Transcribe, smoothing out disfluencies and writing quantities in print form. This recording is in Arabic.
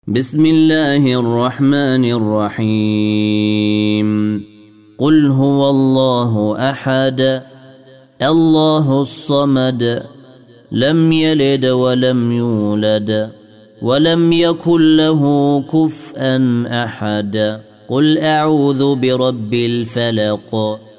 بسم الله الرحمن الرحيم قل هو الله أحد الله الصمد لم يلد ولم يولد ولم يكن له كفءا أحد قل أعوذ برب الفلق